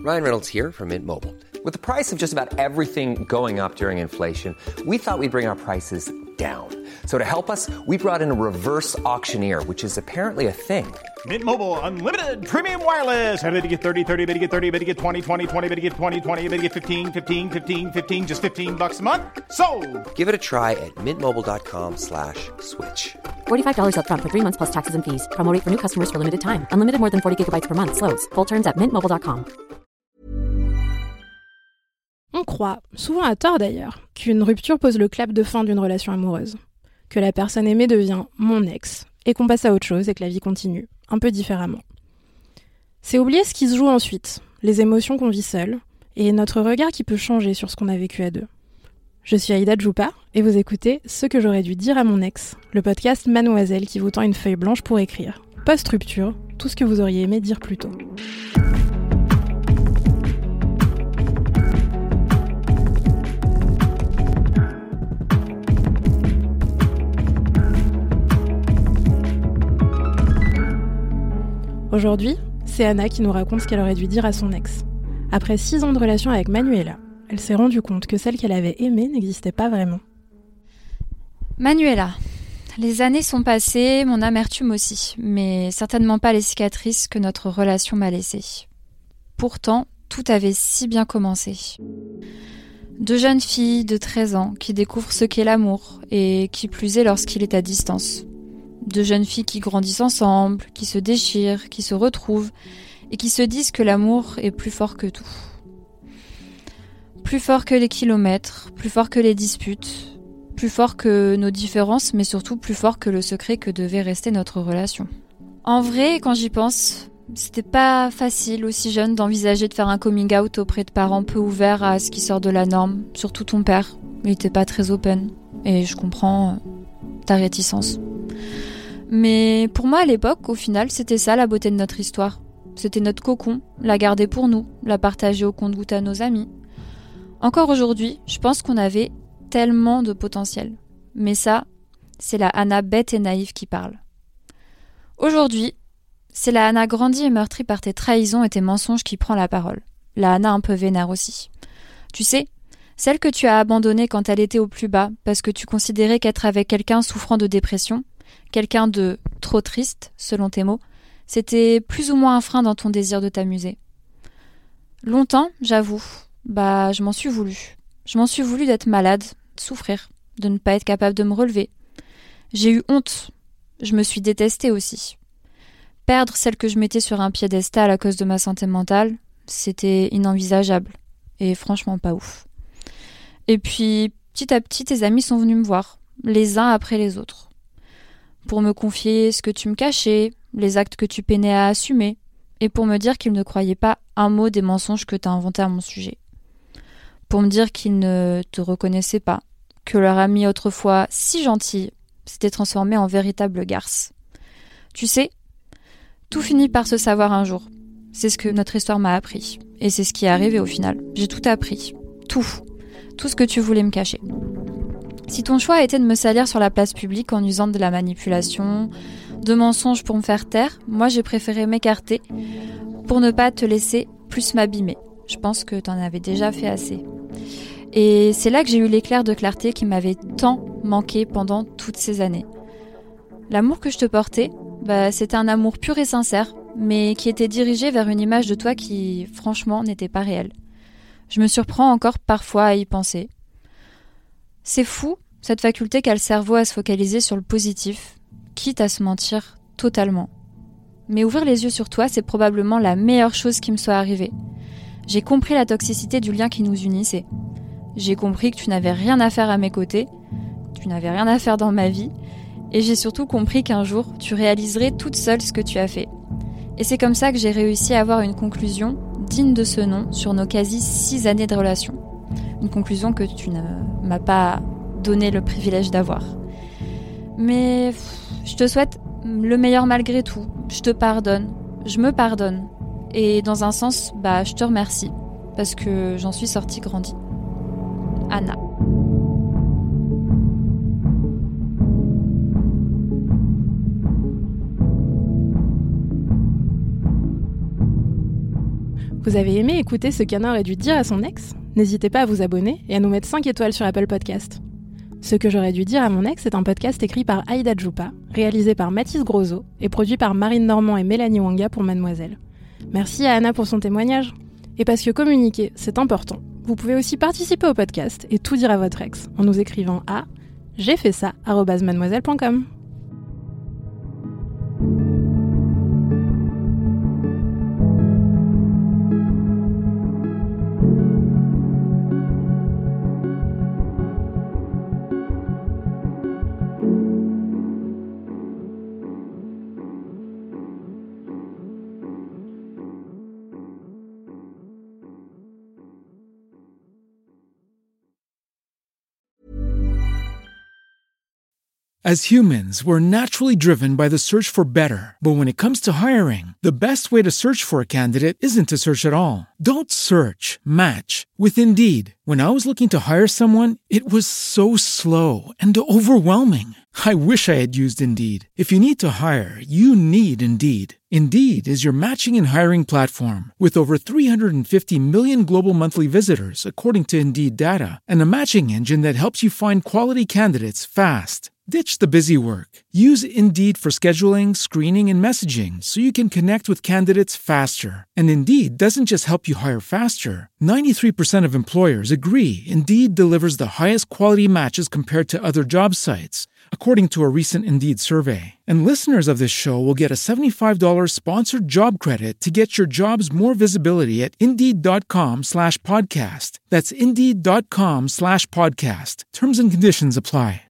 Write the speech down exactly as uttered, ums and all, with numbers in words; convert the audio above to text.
Ryan Reynolds here from Mint Mobile. With the price of just about everything going up during inflation, we thought we'd bring our prices down. So to help us, we brought in a reverse auctioneer, which is apparently a thing. Mint Mobile Unlimited Premium Wireless. How to get thirty, thirty, how to get thirty, how to get twenty, twenty, twenty, how to get twenty, twenty, how to get fifteen, fifteen, fifteen, fifteen, just fifteen bucks a month? Sold! Give it a try at mintmobile.com slash switch. forty-five dollars up front for three months plus taxes and fees. Promo rate for new customers for limited time. Unlimited more than forty gigabytes per month. Slows full terms at mint mobile dot com. On croit, souvent à tort d'ailleurs, qu'une rupture pose le clap de fin d'une relation amoureuse. Que la personne aimée devient mon ex, et qu'on passe à autre chose et que la vie continue, un peu différemment. C'est oublier ce qui se joue ensuite, les émotions qu'on vit seules, et notre regard qui peut changer sur ce qu'on a vécu à deux. Je suis Aïda Djoupa, et vous écoutez Ce que j'aurais dû dire à mon ex, le podcast Mademoiselle qui vous tend une feuille blanche pour écrire, post-rupture, tout ce que vous auriez aimé dire plus tôt. Aujourd'hui, c'est Anna qui nous raconte ce qu'elle aurait dû dire à son ex. Après six ans de relation avec Manuela, elle s'est rendue compte que celle qu'elle avait aimée n'existait pas vraiment. Manuela, les années sont passées, mon amertume aussi, mais certainement pas les cicatrices que notre relation m'a laissées. Pourtant, tout avait si bien commencé. Deux jeunes filles de treize ans qui découvrent ce qu'est l'amour, et qui plus est lorsqu'il est à distance. Deux jeunes filles qui grandissent ensemble, qui se déchirent, qui se retrouvent et qui se disent que l'amour est plus fort que tout. Plus fort que les kilomètres, plus fort que les disputes, plus fort que nos différences, mais surtout plus fort que le secret que devait rester notre relation. En vrai, quand j'y pense, c'était pas facile aussi jeune d'envisager de faire un coming out auprès de parents peu ouverts à ce qui sort de la norme, surtout ton père. Il était pas très open, et je comprends ta réticence. Mais pour moi, à l'époque, au final, c'était ça la beauté de notre histoire. C'était notre cocon, la garder pour nous, la partager au compte-gouttes à nos amis. Encore aujourd'hui, je pense qu'on avait tellement de potentiel. Mais ça, c'est la Anna bête et naïve qui parle. Aujourd'hui, c'est la Anna grandie et meurtrie par tes trahisons et tes mensonges qui prend la parole. La Anna un peu vénère aussi. Tu sais, celle que tu as abandonnée quand elle était au plus bas, parce que tu considérais qu'être avec quelqu'un souffrant de dépression, quelqu'un de trop triste, selon tes mots, c'était plus ou moins un frein dans ton désir de t'amuser. Longtemps, j'avoue, bah je m'en suis voulu. Je m'en suis voulu d'être malade, de souffrir, de ne pas être capable de me relever. J'ai eu honte. Je me suis détestée aussi. Perdre celle que je mettais sur un piédestal à cause de ma santé mentale, c'était inenvisageable. Et franchement pas ouf. Et puis, petit à petit, tes amis sont venus me voir, les uns après les autres. Pour me confier ce que tu me cachais, les actes que tu peinais à assumer, et pour me dire qu'ils ne croyaient pas un mot des mensonges que tu as inventés à mon sujet. Pour me dire qu'ils ne te reconnaissaient pas, que leur amie autrefois si gentille s'était transformée en véritable garce. Tu sais, tout finit par se savoir un jour. C'est ce que notre histoire m'a appris. Et c'est ce qui est arrivé au final. J'ai tout appris. Tout. Tout ce que tu voulais me cacher. Si ton choix a été de me salir sur la place publique en usant de la manipulation, de mensonges pour me faire taire, moi j'ai préféré m'écarter pour ne pas te laisser plus m'abîmer. Je pense que t'en avais déjà fait assez. Et c'est là que j'ai eu l'éclair de clarté qui m'avait tant manqué pendant toutes ces années. L'amour que je te portais, bah, c'était un amour pur et sincère, mais qui était dirigé vers une image de toi qui, franchement, n'était pas réelle. Je me surprends encore parfois à y penser. C'est fou, cette faculté qu'a le cerveau à se focaliser sur le positif, quitte à se mentir totalement. Mais ouvrir les yeux sur toi, c'est probablement la meilleure chose qui me soit arrivée. J'ai compris la toxicité du lien qui nous unissait. J'ai compris que tu n'avais rien à faire à mes côtés, tu n'avais rien à faire dans ma vie, et j'ai surtout compris qu'un jour, tu réaliserais toute seule ce que tu as fait. Et c'est comme ça que j'ai réussi à avoir une conclusion digne de ce nom sur nos quasi six années de relation. Une conclusion que tu ne m'as pas donné le privilège d'avoir. Mais je te souhaite le meilleur malgré tout. Je te pardonne. Je me pardonne. Et dans un sens, bah, je te remercie. Parce que j'en suis sortie grandie. Anna. Vous avez aimé écouter ce qu'Anna aurait dû dire à son ex ? N'hésitez pas à vous abonner et à nous mettre cinq étoiles sur Apple Podcast. Ce que j'aurais dû dire à mon ex est un podcast écrit par Aïda Djoupa, réalisé par Mathis Grosso et produit par Marine Normand et Mélanie Wanga pour Mademoiselle. Merci à Anna pour son témoignage. Et parce que communiquer, c'est important, vous pouvez aussi participer au podcast et tout dire à votre ex en nous écrivant à j'ai fait ça arobase mademoiselle point com. As humans, we're naturally driven by the search for better. But when it comes to hiring, the best way to search for a candidate isn't to search at all. Don't search, match with Indeed. When I was looking to hire someone, it was so slow and overwhelming. I wish I had used Indeed. If you need to hire, you need Indeed. Indeed is your matching and hiring platform with over three hundred fifty million global monthly visitors, according to Indeed data, and a matching engine that helps you find quality candidates fast. Ditch the busy work. Use Indeed for scheduling, screening, and messaging so you can connect with candidates faster. And Indeed doesn't just help you hire faster. ninety-three percent of employers agree Indeed delivers the highest quality matches compared to other job sites, according to a recent Indeed survey. And listeners of this show will get a seventy-five dollars sponsored job credit to get your jobs more visibility at Indeed.com slash podcast. That's Indeed.com slash podcast. Terms and conditions apply.